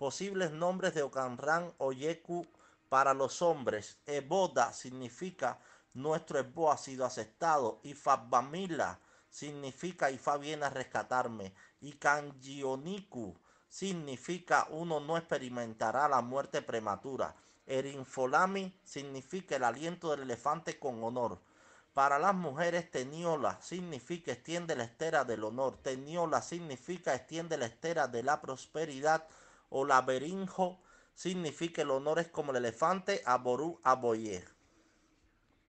Posibles nombres de Ocanran o Yeku para los hombres. Eboda significa nuestro Ebo ha sido aceptado. Y Fabamila significa Ifa viene a rescatarme. Y Kanjioniku significa uno no experimentará la muerte prematura. Erinfolami significa el aliento del elefante con honor. Para las mujeres, Teniola significa extiende la estera del honor. Teniola significa extiende la estera de la prosperidad. O laberinjo significa el honor es como el elefante. Aború aboye.